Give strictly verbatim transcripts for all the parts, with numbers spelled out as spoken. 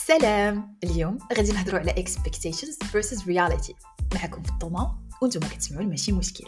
سلام. اليوم غادي نهضروا على expectations versus reality. معكم في الطومة وانتم كتسمعوا ماشي مشكل.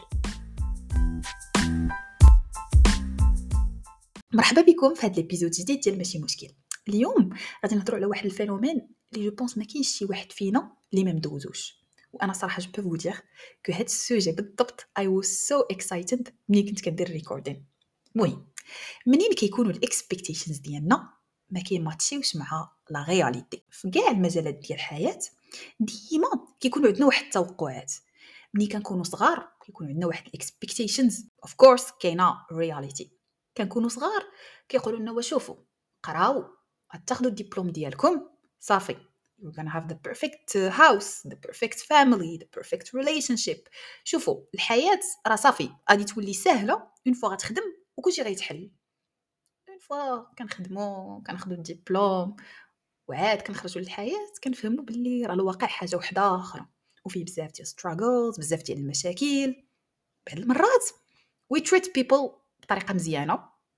مرحبا بكم في هذا الابيزود جديد ديال ماشي مشكل. اليوم غادي نهضروا على واحد الفينومين اللي جو بونس ما كاينش شي واحد فينا اللي ما مدوزوش، وانا صراحه جو بو دير كو هاد السوجي بالضبط I was so excited ملي كنت كندير الريكوردين. المهم منين كيكونوا الاكسبكتيشنز ديالنا ما كيماتشيوش مع لا رياليتي في كاع المجالات ديال الحياه، ديما كيكونوا عندنا واحد التوقعات. ملي كنكونوا صغار كيكونوا عندنا واحد الاكسبكتيشنز، اوف كورس كاينه رياليتي. كنكونوا صغار كيقولوا لنا وشوفوا قراو غتاخذوا الدبلوم ديالكم صافي you're gonna have the perfect house, the perfect family, the perfect relationship. شوفوا الحياه راه صافي غادي تولي سهله اون فوا غتخدم وكلشي غيتحل. اون فوا كنخدموا كناخذوا الدبلوم وعاد كنخرجوا للحياه كنفهموا باللي راه الواقع حاجه وحده اخرى وفيه بزاف ديال struggles، بزاف ديال المشاكل. بعض المرات we treat people بطريقه مزيانه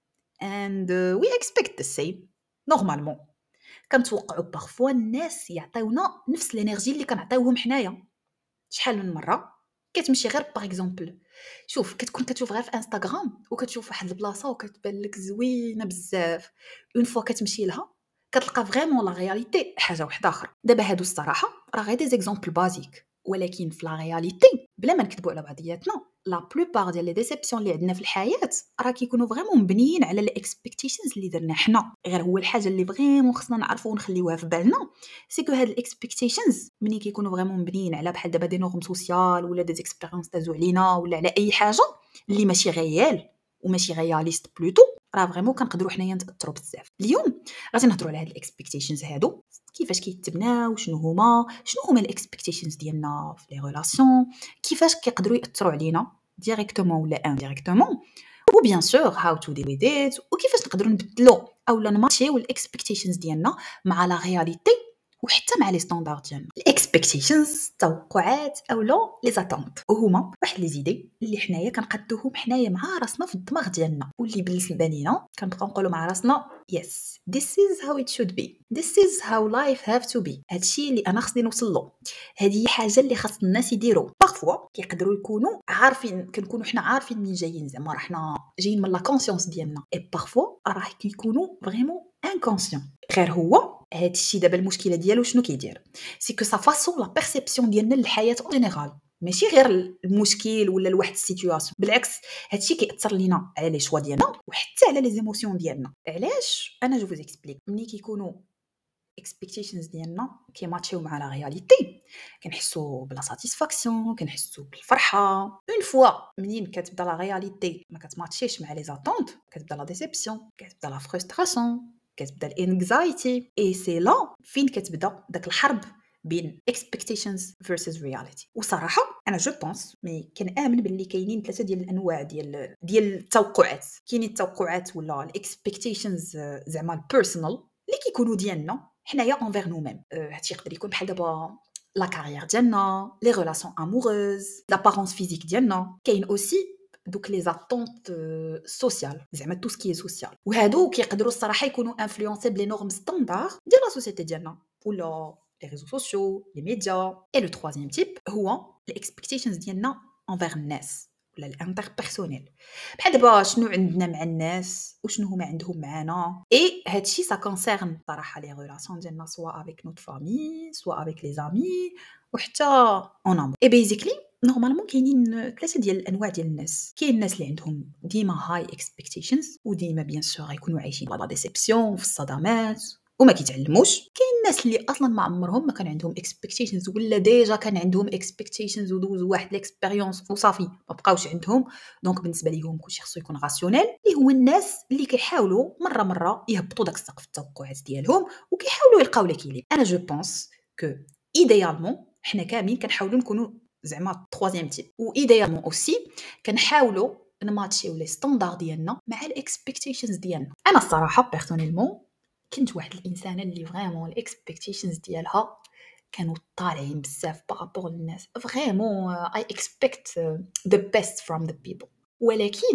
and uh, we expect the same نورمالمون. كنتوقعوا بارفوا الناس يعطيونا نفس الانرجي اللي كنعطيوهم حنايا. شحال من مره كتمشي غير باغ اكزومبل، شوف كتكون كتشوف غير في انستغرام وكتشوف واحد البلاصه وكتبان لك زوينه بزاف، اون فوا كتمشي لها كتلقى فريمون لا رياليتي حاجه وحده اخرى. دابا هادو الصراحه راه غير دي زيكزامبل بازيك، ولكن في لا رياليتي بلا ما نكذبوا على بعضياتنا لا بلوبار ديال لي ديسيبسيون اللي عندنا في الحياه راه كيكونوا فريمون مبنيين على الاكسبكتيشنز اللي درنا حنا. غير هو الحاجه اللي فريمون خصنا نعرفوا ونخليوها في بالنا سي كو هاد الاكسبكتيشنز ملي كيكونوا فريمون مبنيين على بحال دابا دي نورم سوسيال ولا دي اكسبيريونس دازو علينا ولا على اي حاجه اللي ماشي ريال وماشي رياليست بلوتو، راه فريمون كنقدروا حنايا نتاثروا بزاف. اليوم غادي نهضروا على هاد الاكسبكتيشنز هادو، كيفاش كيتبناو، شنو هما شنو هما الاكسبكتيشنز ديالنا في لي ريلاسيون، كيفاش كيقدروا ياثروا علينا ديريكتومون ولا انديريكتومون، و بيان سور هاو تو ديل ويز ات، وكيفاش نقدروا نبدلوا اولا نماتشيو الاكسبكتيشنز ديالنا مع لا رياليتي وحتى مع لي ستاندار ديالنا. الاكسبكتيشنز توقعات اولا لي زاتونت، وهما واحد لي زيدي اللي حنايا كنقدوهم حنايا مع راسنا في الدماغ ديالنا واللي بالنسبه لينا كنبقاو نقولوا مع راسنا yes this is how it should be, this is how life have to be. هادشي اللي انا خصني نوصل له، هذه حاجه اللي خاص الناس يديروا. بارفوا كيقدروا يكونوا عارفين، كنكونوا حنا عارفين منين جايين، زعما راه حنا جايين من لا كونسيونس ديالنا، اي بارفوا راه كيكونوا فريمون انكونسيون. غير هو هادشي دابا المشكله ديالو شنو كيدير، سي كو سا فاسون لا بيرسيبسيون ديالنا للحياه اون جينيرال، ماشي غير المشكل ولا لواحد السيتوياسيون، بالعكس هادشي كيأثر لينا على لي شوا ديالنا وحتى على لي زيموسيون ديالنا. علاش؟ انا جو فوز اكسبليك. ملي كيكونوا expectations ديالنا كيماتشيو مع لا رياليتي كنحسوا بلا ساتيسفاكسيون، كنحسوا بالفرحه. اون فوا منين كتبدا لا رياليتي ما كتماتشيش مع لي زاتونت كتبدا لا ديسيبسيون، كتبدا لا فرستراسيون، كتبدا الانكزايتي، اي سي لا فين كتبدا داك الحرب بين expectations versus reality. وصراحه انا جو بونس مي كنامن باللي كاينين ثلاثه ديال الانواع ديال ديال التوقعات. كاينين التوقعات ولا الاكسبكتيشنز زعما البيرسونال اللي كيكونوا ديالنا حنايا انفير نو ميم. هادشي يقدر يكون بحال دابا لا كارير ديالنا، لي ريلاسيون اموروز، لابارونس فيزيك ديالنا. كاين اوسي دوك لي زاتونت سوسيال، زعما تو سكي سوسيال، وهادو كيقدروا الصراحه يكونوا انفلونسي بلي نورم ستاندار ديال لا سوسيتي ديالنا ولا لي ريزو سوسيو، لي ميديا. اي لو ترويزيام تيب هو الاكسبكتيشنز ديالنا انفير الناس ولا الانتر بيرسونيل، بحال دابا شنو عندنا مع الناس وشنو هما عندهم معنا. اي هادشي سا كونسيرن صراحه لي ريلاسيون ديالنا سوا افيك نوت فامي سوا افيك لي زامي وحتى اون امور. اي بيزيكلي نورمالمون كاينين ثلاثه ديال الانواع ديال الناس. كاين الناس اللي عندهم ديما هاي اكسبكتيشنز وديما بيان سور غيكونوا عايشين لا ديسيبسيون في الصدمات وما كيتعلموش. كاين الناس اللي اصلا ما عمرهم ما كان عندهم اكسبكتيشنز ولا ديجا كان عندهم اكسبكتيشنز ودوزوا واحد ليكسبيريونس وصافي ما بقاوش عندهم، دونك بالنسبه ليهم كلشي خصو يكون راسيونيل. اللي هو الناس اللي كيحاولوا مره مره يهبطوا داك السقف التوقعات ديالهم وكيحاولوا يلقاو ليكيليب. انا جو بونس كو ايديالمون حنا كاملين كنحاولوا نكونوا زعما ترويزيام تيب، و ايديالمون اوسي كنحاولوا نماتشيو لي ستاندار ديالنا مع الاكسبكتيشنز ديالنا. انا الصراحه بيرسونيلمون كنت واحد الانسانه اللي فريمون الاكسبكتيشنز ديالها كانوا طالعين بزاف بارابور للناس. فريمون اي اكسبكت ذا بيست فروم ذا بيبل، ولكن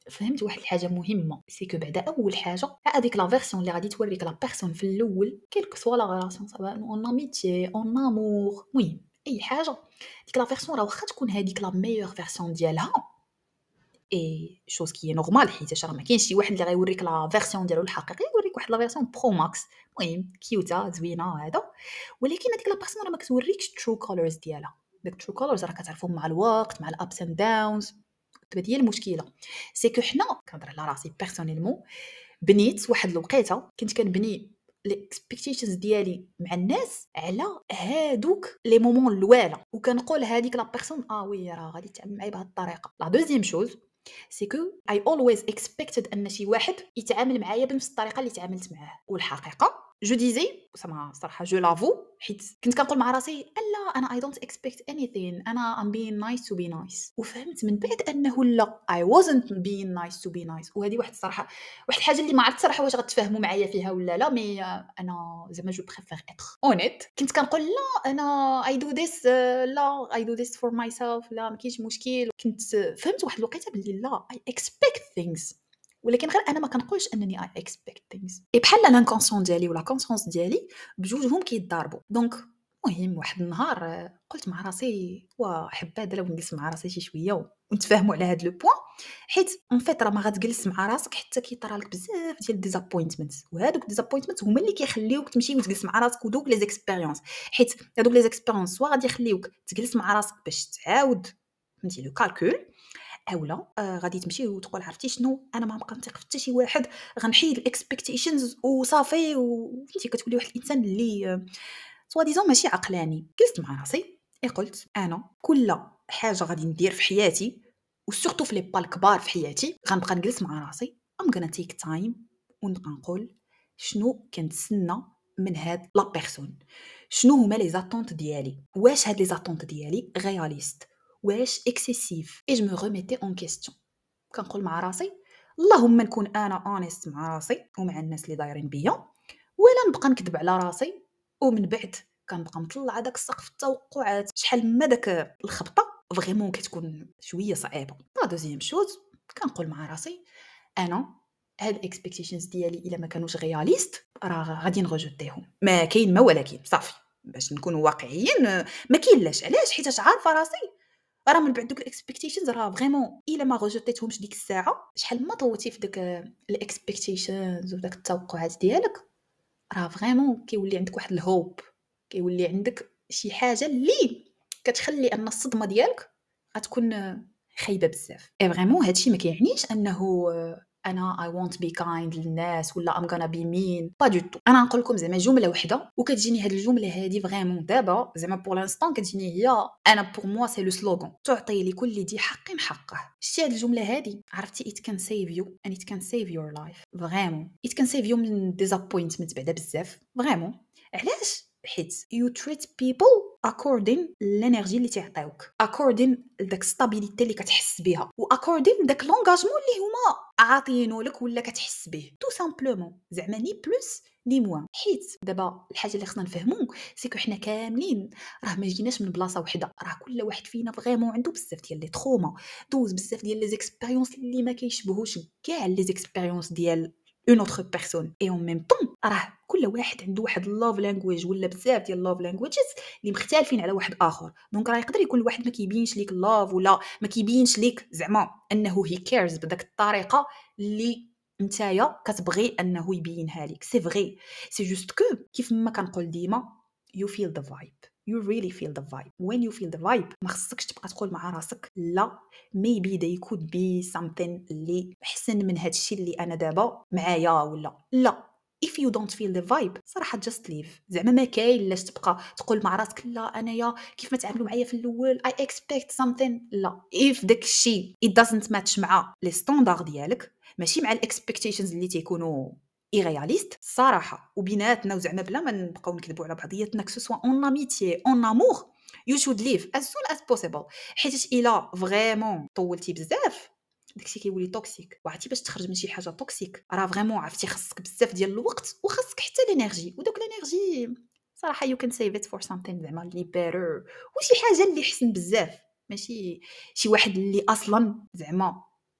فهمت واحد الحاجه مهمه، سي كو بعدا اول حاجه هذيك لا فيرسيون اللي غادي توريك لا بيرسون في الاول كيلك سوا لا غلاسيون سواء اون اميتي اون امور المهم اي حاجه، ديك لا فيرسون راه واخا تكون هذيك لا ميور فيرسيون ديالها اي شوز كي نورمال، حيت راه ما كاينش شي واحد اللي غيوريك لا فيرسيون ديالو الحقيقيه، يوريك واحد لا فيرسيون برو ماكس المهم كيوتا زوينه هذا، ولكن هذيك لا بيرسون راه ما كتوريكش ترو كولرز ديالها. داك ترو كولرز راه كتعرفهم مع الوقت مع الابس اند داونز. هذه هي المشكله، سي كو حنا كنهضر على راسي بيرسونيلمون بنيت واحد الوقيته كنت كنبني الاكسبكتيشنز ديالي مع الناس على هادوك لي مومون الوالا، وكنقول هذيك لا بيرسون اه وي راه غادي تعامل معايا بهذه الطريقه. لا دوزيام شوز سي كو اي اولويز اكسبكتد ان شي واحد يتعامل معايا بنفس الطريقه اللي تعاملت معاه، والحقيقه جو ديزي سما صراحه جو لافو حيت كنت كنقول مع راسي الا انا اي دونت اكسبكت انيثين، انا ام بين نايس تو بي نايس. وفهمت من بعد انه لا اي وازنت بين نايس تو بي نايس. وهذه واحد الصراحه واحد الحاجه اللي ما عرفت صراحه واش غتفاهموا معايا فيها ولا لا، مي انا زعما جو بريفير اتر اونيت. كنت كنقول لا انا اي دو ذيس، لا اي دو ذيس فور ماي سيلف، لا ما كاينش مشكل. كنت فهمت واحد الوقيته باللي لا اي اكسبكت ثينكس، ولكن غير انا ما كنقولش انني اي اكسبكت ثينكس. اي بحال لانكونسيون ديالي ولا كونسيونس ديالي بجوجهم كيتضاربوا. دونك المهم واحد النهار آه، قلت مع راسي وا حباد لو نجلس مع راسي شي شويه ونتفاهموا على هذا لو بوين، حيت اون فيت راه ما غتجلس مع راسك حتى كيطرا لك بزاف ديال ديزابوينتمنت، وهذوك ديزابوينتمنت هما اللي كيخليوك تمشي وتجلس مع راسك. ودوك لي زيكسبيريونس، حيت هذوك لي زيكسبيريونس سوا غادي يخليوك تجلس مع راسك باش تعاود فهمتي لو كالكول، اولا آه غادي تمشي وتقول عرفتي شنو انا ما بقى نثق في حتى شي واحد، غنحيد الاكسبكتيشنز وصافي. وفهمتي كتولي واحد الانسان اللي سوا ديزون ماشي عقلاني. جلست مع راسي اي قلت انا كل حاجه غادي ندير في حياتي وسورتو في لي با الكبار في حياتي غنبقى نجلس مع راسي ام غانا تيك تايم ونبقى نقول شنو كنتسنى من هاد لا بيرسون، شنو هما لي زاتونت ديالي، واش هاد لي زاتونت ديالي رياليست واش اكسيسيف. اي جو مي ريميتي اون كيستيون، كنقول مع راسي اللهم نكون انا اونست مع راسي ومع الناس اللي دايرين بيا، ولا نبقى نكذب على راسي ومن بعد كنبقى مطلع داك سقف التوقعات. شحال ما داك الخبطه فريمون كتكون شويه صعيبه. لا دوزيام شوز كنقول مع راسي انا هاد الاكسبكتيشنز ديالي الا ما كانوش رياليست راه غادي نرجوتيهم، ما كاين ما ولكن صافي باش نكونوا واقعيين ما كاين لاش. علاش؟ حيت عارفه راسي راه من بعد دوك الاكسبكتيشنز راه فريمون الا ما رجوتيتهمش ديك الساعه شحال ما طوتي في داك الاكسبكتيشنز وداك التوقعات ديالك راه فريمون كيولي عندك واحد الهوب، كيولي عندك شي حاجه اللي كتخلي ان الصدمه ديالك غتكون خايبه بزاف. اي فريمون هادشي ما كيعنيش انه انا اي وونت بي كايند للناس ولا ام غانا بي مين با دو تو. انا نقول لكم زعما جمله وحده وكتجيني هاد الجمله هادي فريمون دابا زعما بور لانستون كتجيني هي انا بور موا سي لو سلوغان تعطي لكل ذي حق حقه. شتي هاد الجمله هادي عرفتي it can save you and it can save your life فريمون it can save you من disappointment بعدا بزاف فريمون. علاش؟ حيت you treat people according l'energy اللي تعطيوك according لداك stabilité اللي كتحس بها و according داك l'engagement اللي هما عاطينو لك ولا كتحس به تو سامبلومون زعما ني بلوس ني موان. حيت دابا الحاجه اللي خصنا نفهمو سيكو حنا كاملين راه ما جيناش من بلاصه وحده، راه كل واحد فينا فريمون عنده بزاف ديال لي تروما، دوز بزاف ديال لي زيكسبيريونس اللي ما كيشبهوش كاع لي زيكسبيريونس ديال اون اوتر بيرسون. اي اون ميم طون راه كل واحد عنده واحد اللوف لانجويج ولا بزاف ديال اللوف لانجويجز اللي مختلفين على واحد اخر. دونك راه يقدر يكون الواحد ما كيبينش ليك اللوف ولا ما كيبينش ليك زعما انه هي كيرز بداك الطريقه اللي نتايا كتبغي انه يبينها لك. سي فري سي جوست كو كيف ما كنقول ديما you feel the vibe, you really feel the vibe. when you feel the vibe ما خصكش تبقى تقول مع راسك لا maybe they could be something اللي احسن من هادشي اللي انا دابا معايا ولا لا. if you don't feel the vibe صراحه just leave. زعما ما كاين لاش تبقى تقول مع راسك لا انايا كيف ما تعاملوا معايا في الاول I expect something. لا if داك الشيء it doesn't match مع لي ستاندار ديالك ماشي مع الاكسبكتيشنز اللي تيكونوا ايرياليست صراحه وبيناتنا وزعما بلا ما نبقاو نكذبوا على بعضياتنا كو سوا اون اميتي اون امور you should leave as soon as possible. حيت الا فريمون طولتي بزاف داكشي كيولي توكسيك. وعرفتي باش تخرج من شي حاجه توكسيك راه فريمون عرفتي خصك بزاف ديال الوقت وخصك حتى الانرجي، ودوك الانرجي صراحه you can save it for something زعما اللي better وشي حاجه اللي حسن بزاف، ماشي شي واحد اللي اصلا زعما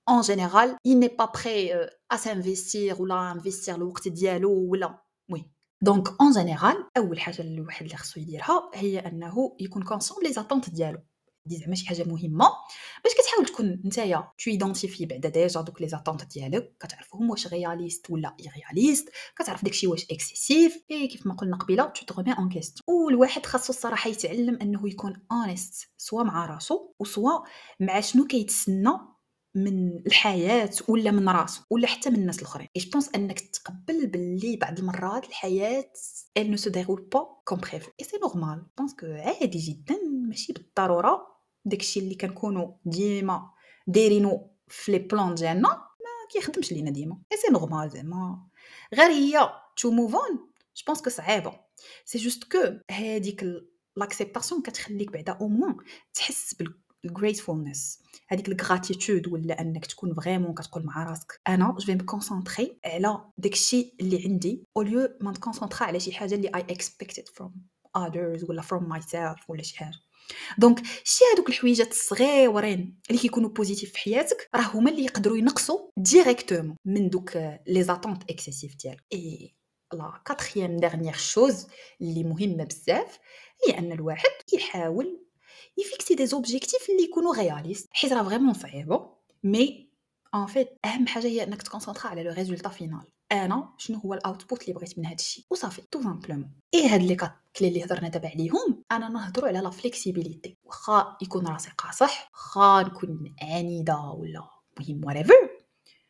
en général il n'est pas prêt euh, à s'investir ولا investir الوقت ديالو ولا وي دونك en général اول حاجه الواحد اللي خصو يديرها هي انه يكون كونسون لي زاتونت ديالو دي زعما شي حاجه مهمه باش كتحاول تكون نتايا تو ايدونتيفي بعدا ديجا دوك لي زاتونت ديالك كتعرفهم واش رياليست ولا ايرياليست كتعرف داكشي واش اكسيسيف اي كيف ما قلنا قبيله تو تغمي اون كيستيون والواحد خاصو الصراحه يتعلم انه يكون اونست سوا مع راسو وسوا مع شنو كيتسنى من الحياه ولا من راسو ولا حتى من الناس الاخرين اي جو بونس انك تقبل باللي بعض المرات الحياه elle ne se déroule pas comme prévu et c'est normal je pense que عادي جدا ماشي بالضروره داكشي اللي كنكونوا ديما دايرينو في لي بلان ديالنا ما كيخدمش لينا ديما اي سي نورمال زعما غير هي تو موف اون جو بونس كو صعيبه سي جوست كو هذيك لاكسبتاسيون كتخليك بعدا او موان تحس بالgratefulness هذيك الغراتيتود ولا انك تكون فريمون كتقول مع راسك انا جو في مكونسونطري على داكشي اللي عندي او ليو ما نكونسونطرا على شي حاجه اللي اي expected from others ولا from myself ولا شي حاجه دونك شي هذوك الحويجات الصغيورين اللي كيكونوا بوزيتيف في حياتك راه هما اللي يقدروا ينقصوا ديريكتومون من دوك لي زاتونت اكسيسيف ديالك اي لا كاتريام ديرنيير شوز اللي مهمه بزاف هي ان الواحد يحاول يفيكسي دي زوبجيكتيف اللي يكونوا رياليست حيت راه فريمون صعيبه مي ان فيت اهم حاجه هي انك تكونسونطرا على لو ريزولطا فينال انا شنو هو الاوتبوت اللي بغيت من هذا الشيء وصافي تو سامبلومون اي هاد لي كات كلي اللي هضرنا دابا عليهم انا نهضروا على لا فليكسيبيليتي واخا يكون راسي قاصح واخا نكون عنيده ولا مهم whatever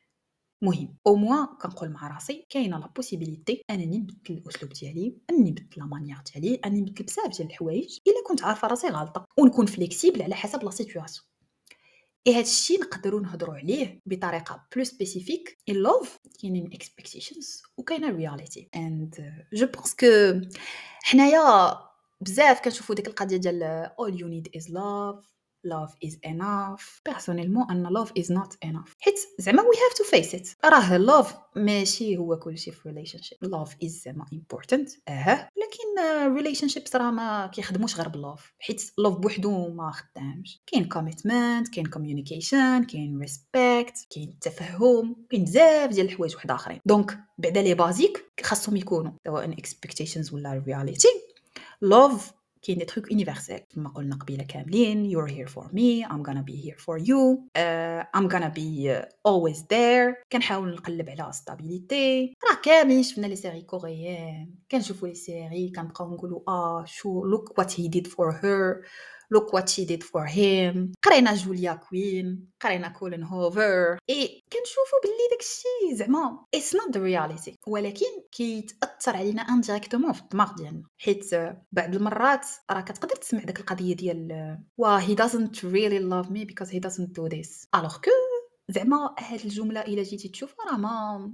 مهم او موان كنقول مع راسي كاينه لا بوسيبيليتي انني نبدل الاسلوب ديالي انني نبدل لا مانيير ديالي انني نبدل بزاف ديال الحوايج الا كنت عارفه راسي غلطه ونكون فليكسيبل على حسب لا سيتوياسيون اي هاد الشيء نقدروا نهضروا عليه بطريقه بلو سبيسيفيك ان لوف كاينين اكسبكتيشنز وكاينه رياليتي اند جو بونس كو حنايا بزاف كنشوفوا ديك القضيه ديال all you need is love love is enough personnellement ان love is not enough حيت زعما we have to face it راه love ماشي هو كلشي في relationship love is زعما important اه لكن relationships راه ما كيخدموش غير باللوف حيت love بوحدو ما خدامش كاين commitment كاين communication كاين respect كاين التفهم كاين بزاف ديال الحوايج واحد اخرين دونك بعدا لي بازيك خاصهم يكونوا سواء expectations ولا reality love كاين دي تروك يونيفرسال كما قلنا قبيله كاملين you're here for me I'm gonna be here for you uh, I'm gonna be uh, always there كنحاول نقلب على stability راه كاملين شفنا لي سيري كوريين كنشوفوا لي سيري كنبقاو نقولوا اه شو look what he did for her look what she did for him قرينا جوليا كوين قرينا كولين هوفر اي كنشوفوا باللي داكشي زعما it's not the reality ولكن كيتاثر علينا انديريكتومون في الدماغ ديالنا حيت بعض المرات راه كتقدر تسمع داك القضيه ديال وا he doesn't really love me because he doesn't do this alors que زعما هاد الجمله الا جيتي تشوفها راه ما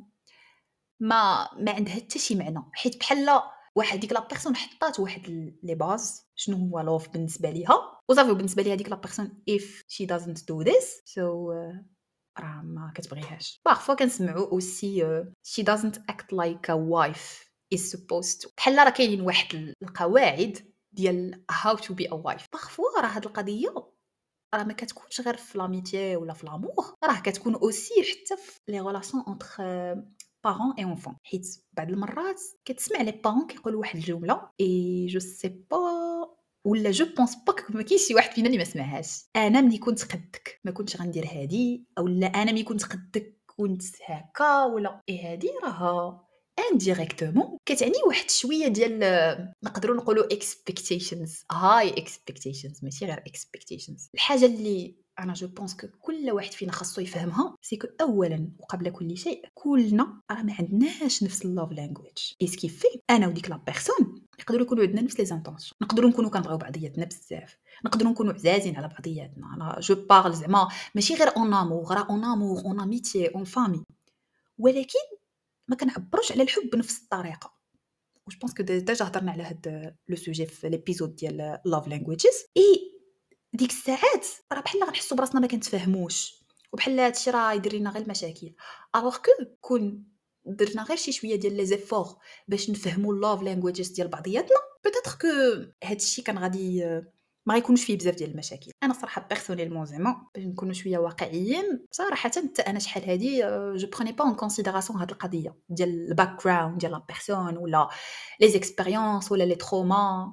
ما ما عندها حتى شي معنى حيت بحال واحد ديك لا بيرسون حطات واحد لي باز شنو هو لوف بالنسبه ليها وصافي بالنسبه ليها ديك لا بيرسون if she doesn't do this so uh, راه ما كتبغيهاش بارفوا كنسمعوا اوسي uh, she doesn't act like a wife is supposed to بحال راه كاينين واحد القواعد ديال how to be a wife بارفوا راه هاد القضيه راه ما كتكونش غير في لاميتي ولا في لامور راه كتكون اوسي حتى في لي ريلاسيون انتر بارون اي انفون حيت بعض المرات كتسمع لي بارون كيقولوا واحد الجمله اي جو سي با ولا جو بونس با ما كاينش شي واحد فينا اللي ما سمعهاش انا ملي كنت قدك ما كنتش غندير هادي اولا انا ملي كنت قدك كنت هكا ولا اي هادي راه انديريكتومون كتعني واحد شويه ديال نقدروا نقولوا expectations high expectations ماشي غير expectations الحاجه اللي انا جو بونس كو كل واحد فينا خاصو يفهمها سي كو اولا وقبل كل شيء كلنا راه ما عندناش نفس اللوف لانجويج ايس كيفي انا وديك لا بيرسون يقدروا يكونوا عندنا نفس لي زانطونسيون نقدروا نكونوا كنبغيو بعضياتنا بزاف نقدروا نكونوا عزازين على بعضياتنا انا جو بارل زعما ماشي غير اون امور راه اون امور اون اميتي اون فامي ولكن ما كنعبروش على الحب بنفس الطريقه واش بونس كو ديجا هضرنا على هاد لو سوجي في ليبيزود ديال لاف لانجويجز اي ديك الساعات راه بحال غنحسوا براسنا ما كنتفاهموش وبحال هادشي راه يدير لنا غير المشاكل الوغ كو كون درنا غير شي شويه ديال لي زيفور باش نفهموا لاف لانجويجز ديال بعضياتنا بيتيتر كو هادشي كان غادي ما غيكونوش فيه بزاف ديال المشاكل. أنا صراحة بيرسونيلمون زعما باش نكونوا شوية واقعيين، صراحةً حتى أنا شحال هادي جو prenais pas en considération هاد القضية ديال الbackground ديال la personne ولا les expériences ولا les traumas.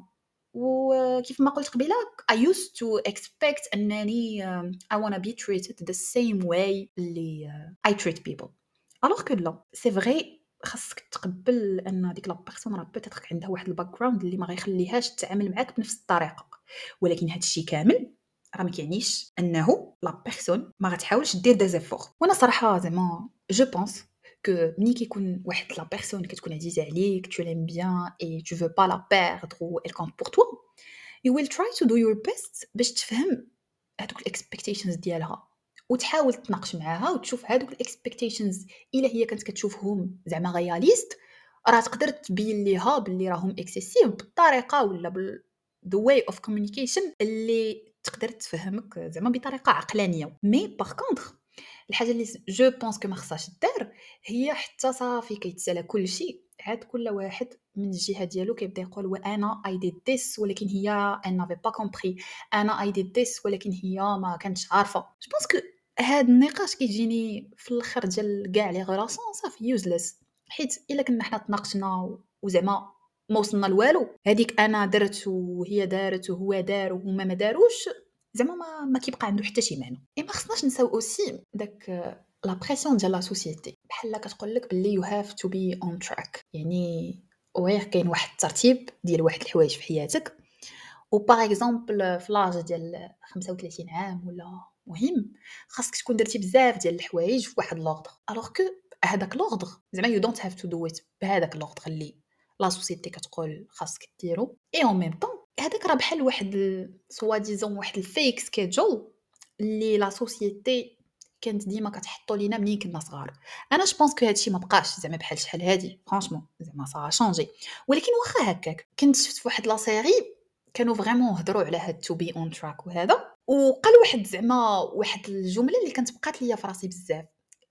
وكيف ما قلت قبيلة I used to expect أنني um, I wanna be treated the same way اللي uh, I treat people. alors que لا c'est vrai خاصك تقبل ان ديك لا بيرسون راه بيتيتر عندها واحد الباك اللي ما غيخليهاش تتعامل معاك بنفس الطريقه، ولكن هذا الشيء كامل راه ما كيعنيش انه لا بيرسون ما غتحاولش دير دي زيفور. وانا صراحه زعما جو بونس que ملي كيكون واحد لا بيرسون كتكون عزيزه عليك tu l'aimes bien et tu veux pas la perdre ou elle compte pour toi you will try to do your best باش تفهم هذوك الاكسبكتيشنز ديالها وتحاول تناقش معاها وتشوف هذوك الاكسبكتيشنز الا هي كانت كتشوفهم زعما رياليست راه تقدر تبين ليها باللي راهم اكسيسيف بالطريقه ولا بال the way of communication اللي تقدر تفهمك زعما بطريقه عقلانيه. مي باغ كونطخ الحاجه اللي جو بونس كو ما خصهاش دار هي حتى صافي كيتسالى كل شيء عاد كل واحد من الجهه ديالو كيبدا يقول وانا اي ديد ذس ولكن هي ان نافي با كومبري انا اي ديد ذس ولكن هي ما كانتش عارفه. جو بونس كو هاد النقاش كيجيني في الاخر ديال كاع لي غولاسيون صافي يوزلس، حيت الا كنا حنا تناقشنا وزعما ما وصلنا لوالو هذيك انا درت وهي دارت وهو دار وهما ما داروش زعما ما, ما كيبقى عنده حتى شي معنى. اي ما خصناش نساو اوسي داك لا بريسيون ديال لا سوسيتي بحال كتقول لك باللي يو هاف تو بي اون تراك، يعني وغير كاين واحد الترتيب ديال واحد الحوايج في حياتك و باغ اكزومبل في لاج ديال خمسة وثلاثين عام ولا مهم خاصك تكون درتي بزاف ديال الحوايج في واحد لوردر الوغ كو هذاك لوردر زعما يو دونت هاف تو دو ات بهذاك لوردر اللي لا سوسيتي كتقول خاصك ديرو. اي اون ميم طون هذاك راه بحال واحد سوا ديزون واحد الفيك سكيدجول اللي لا سوسيتي كانت ديما كتحطوا لينا ملي كنا صغار. انا جو بونس كو هادشي ما بقاش زعما بحال شحال هادي فرانشمون زعما صا شانجي، ولكن واخا هكاك كنت شفت في واحد لا سيري كانوا فريمون هضروا على هاد تو بي اون تراك وهذا وقال واحد زعما واحد الجمله اللي كانت بقات ليا في راسي بزاف.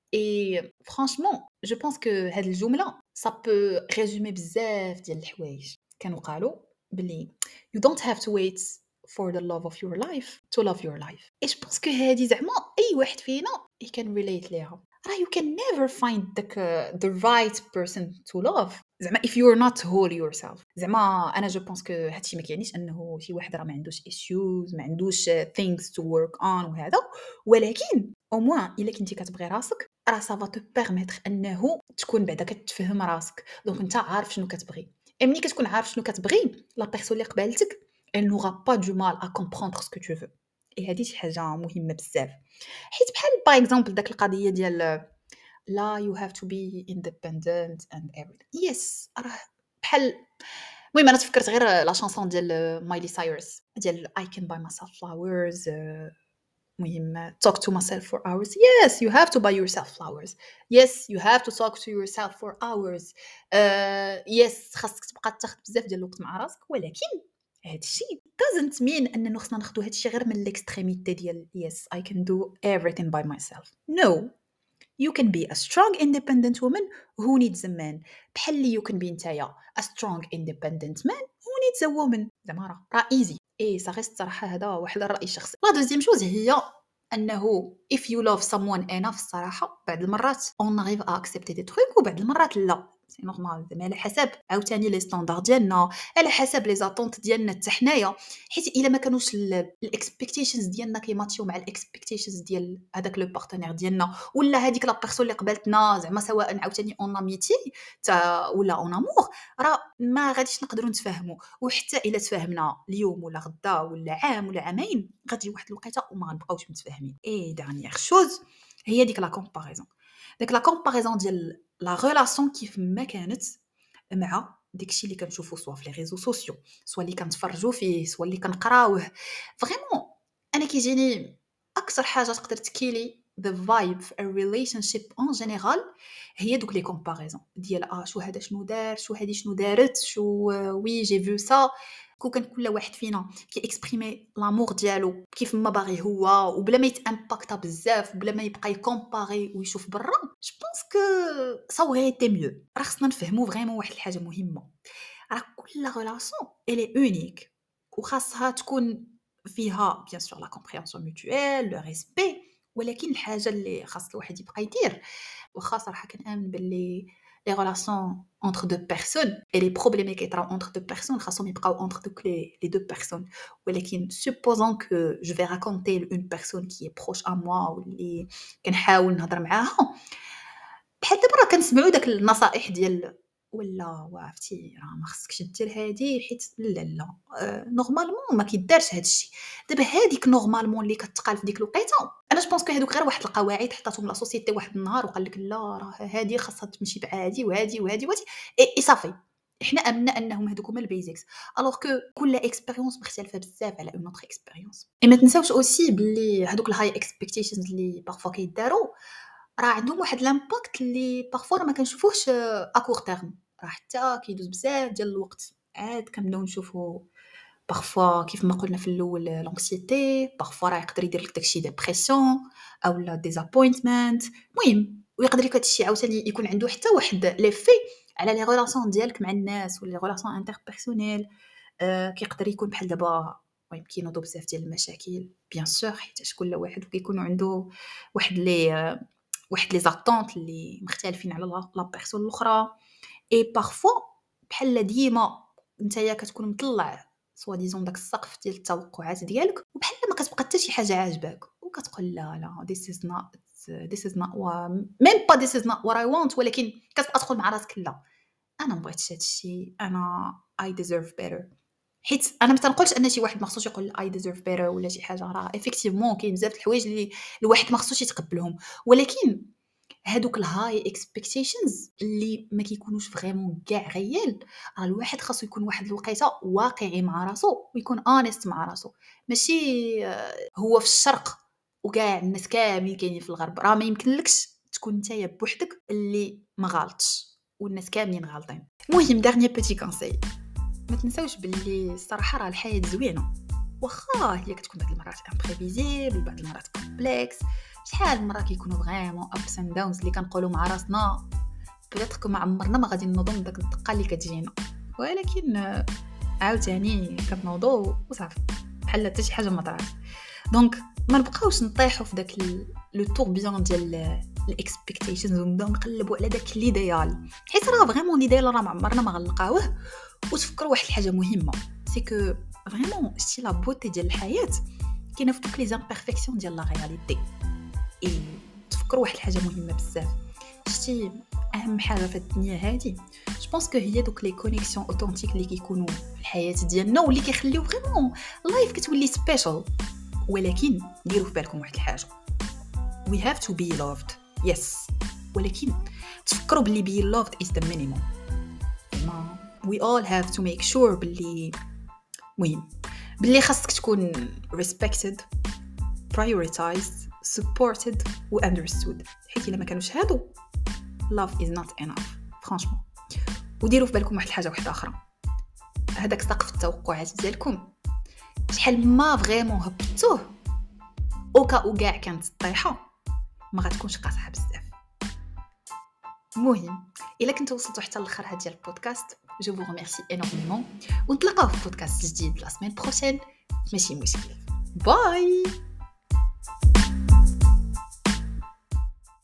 اي فرانشمون جو بونس كو هاد الجمله سا بو ريزومي بزاف ديال الحوايج. كانوا قالوا بلي you don't have to wait for the love of your life to love your life. اي جو بونس كو هادي زعما اي واحد فينا he can relate ليها. راه you can never find the, the right person to love زعما if you're not whole yourself. زعما انا جو بونس كو هادشي ما كيعنيش انه شي واحد راه ما عندوش issues ما عندوش things to work on وهذا، ولكن او موان الا كنتي كتبغي راسك راه سافا تو بيرميتر انه تكون بعدا كتفهم راسك دونك انت عارف شنو كتبغي. اي ملي كتكون عارف شنو كتبغي لا بيرسون اللي قبالتك elle n'aura pas du mal à comprendre ce que tu veux. اي هادي شي حاجه مهمه بزاف حيت بحال باغ اكزومبل داك القضيه ديال لا you have to be independent and everything. yes راه بحال المهم انا تفكرت غير لا شانسون ديال مايلي سايرس ديال I can buy myself flowers. مهم talk to myself for hours. yes you have to buy yourself flowers. yes you have to talk to yourself for hours. uh, yes خاصك تبقى تاخذ بزاف ديال الوقت مع راسك، ولكن هادشي doesn't mean اننا خصنا ناخذ هادشي غير من الاكستريميتي ديال yes I can do everything by myself. no you can be a strong independent woman who needs a man بحال اللي you can be نتايا a strong independent man who needs a woman. زعما راه راه easy. ايه صافي الصراحه هذا واحد الراي الشخصي. لا دوزيام شوز هي انه if you love someone enough الصراحه بعض المرات on arrive à accepter des trucs وبعض المرات لا سي نورمال زعما على حسب عاوتاني لي ستاندار ديالنا على حسب لي زاتونت ديالنا حتى حنايا، حيت الا ما كانوش الاكسبكتيشنز ديالنا كيماتيو مع الاكسبكتيشنز ديال هذاك لو بارتنير ديالنا ولا هذيك لا بيرسون اللي قبلتنا زعما سواء عاوتاني اون اميتي تا ولا اون امور راه ما غاديش نقدروا نتفاهموا. وحتى الا تفاهمنا اليوم ولا غدا ولا عام ولا عامين غتجي واحد الوقيته وما غنبقاوش متفاهمين. اي دانيير شوز هي ديك لا كومباريزون ديك لا كومباريزون ديال لا ريلاسيون كيف ما كانت مع داكشي اللي كنشوفو سوا في لي ريزو سوسيو سوا اللي كنتفرجوا فيه سوا اللي كنقراوه. فريمون انا كيجيني اكثر حاجه تقدر تكيلي the vibe في a relationship en général هي دوك لي كومباريزون ديال اه شو هذا شنو دار شو هذه شنو دارت شو وي جي فيو سا. كو كان كل واحد فينا كي اكسبريمي لامور ديالو كيف ما باغي هو وبلا ما يتامباكتا بزاف بلا ما يبقى يكومباري ويشوف برا جو بونس كو سا وغي تي ميو. راه خصنا نفهموا فريمون واحد الحاجه مهمه راه كل ريلاسيون الي اونيك وخاصها تكون فيها bien sûr la compréhension mutuelle le respect ولكن الحاجة اللي خاص الواحد يبقى يدير واخا صراحة كنآمن باللي les relations entre deux personnes et les problèmes qui كيطراو entre deux personnes خاصهم يبقاو entre دوك les, les deux personnes ولكن supposons que je vais raconter une personne qui est proche à moi واللي كنحاول نهضر معاها بحال دابا راه كنسمعوا داك النصائح ديال ولا وعرفتي راه ما خصكش دير هادي حيت لا لا أه نورمالمون ما كيدارش هاد الشيء دابا هذيك نورمالمون اللي كتقال في ديك الوقيته انا جو بونس كو هذوك غير واحد القواعد حطاتهم لا سوسيتي واحد النهار وقال لك لا راه هذه خاصها تمشي بعادي وهادي وهادي وهادي اي صافي احنا امنا انهم هذوك هما البيزكس الوغ كو كل اكسبيريونس مختلفه بزاف على اون اوتر اكسبيريونس اي ما تنساوش اوسي بلي هذوك الهاي اكسبكتيشنز اللي بارفوا كيداروا راه عندهم واحد لامباكت اللي بارفوا ما كنشوفوهش ا كور تيرم راه حتى كيدوز بزاف ديال الوقت عاد كنبداو نشوفوا بارفوا كيف ما قلنا في الاول لونكسيتي بارفوا راه يقدر يدير لك داكشي ديبرسيون او لا ديزابوينتمنت المهم ويقدر لك هادشي عاوتاني يكون عنده حتى واحد ليفي على لي ريلاسيون ديالك مع الناس ولا لي ريلاسيون انتربيرسونيل آه كيقدر يكون بحال دابا المهم كينوضوا بزاف ديال المشاكل بيان سور حيت كل واحد كيكون عنده واحد لي آه واحد لي زاتونط اللي مختلفين على لا بيرسون الاخرى اي بارفوا بحال ديما نتايا كتكون مطلع سوا ديزون داك السقف ديال التوقعات ديالك وبحال ما كتبقى حتى شي حاجه عاجباك وكتقول لا لا this is not this is not même pas this is not what I want ولكن كتبقى تقول مع راسك لا انا ما بغيتش هذا الشيء انا I deserve better حيت انا ما تنقولش ان شي واحد ما خصوش يقول I deserve better ولا شي حاجه راه effectivement كاين بزاف د الحوايج اللي الواحد ما خصوش يتقبلهم ولكن هادوك الهاي اكسبكتيشنز اللي ما كيكونوش فريمون كاع غيال راه الواحد خاصو يكون واحد الوقيته واقعي مع راسو ويكون اونست مع راسو ماشي هو في الشرق وكاع الناس كاملين كاينين في الغرب راه ما يمكنلكش تكون نتايا بوحدك اللي ما غلطش والناس كاملين غالطين المهم دارني بيتي كونساي ما تنساوش باللي الصراحه راه الحياه زوينه واخا هي كتكون بعض المرات امبريفيزيبل بعض المرات كومبلكس شحال مره كيكونوا فريمون ابس اند داونز اللي كنقولوا مع راسنا بلاتك ما عمرنا ما غادي نوضوا داك الدقه اللي كتجينا ولكن عاوتاني كنوضوا وصافي بحال حتى شي حاجه ما طرات دونك ما نبقاوش نطيحوا في داك لو توربيون ديال الاكسبكتيشنز ونبداو نقلبوا على داك ليديال حيت راه فريمون ليديال راه ما عمرنا ما غنلقاوه وتفكروا واحد الحاجه مهمه سي كو فريمون شتي لا بوتي ديال الحياه كاينه في دوك لي زامبيرفيكسيون ديال لا رياليتي اي تفكروا واحد الحاجه مهمه بزاف شتي اهم حاجه في الدنيا هذه جو بونس كو هي دوك لي كونيكسيون اوثنتيك اللي كيكونوا في الحياه ديالنا واللي كيخليو فريمون لايف كتولي سبيشال ولكن ديروا في بالكم واحد الحاجه we have to be loved yes ولكن تفكروا باللي being loved is the minimum ما we all have to make sure باللي مهم باللي خاصك تكون respected prioritized supported و understood حيت الا ما كانوش هادو love is not enough franchement وديروا في بالكم واحد الحاجه واحده اخرى هذاك سقف التوقعات ديالكم شحال ما فريمون هبطوه اوكا او كاع كانت الطيحه ما غتكونش قاصحه بزاف المهم الا كنتوا وصلتوا حتى الاخر هاد ديال البودكاست جو فو ريميرسي انورمون ونتلاقاو في بودكاست جديد لا سيمين بروشين ماشي مشكل باي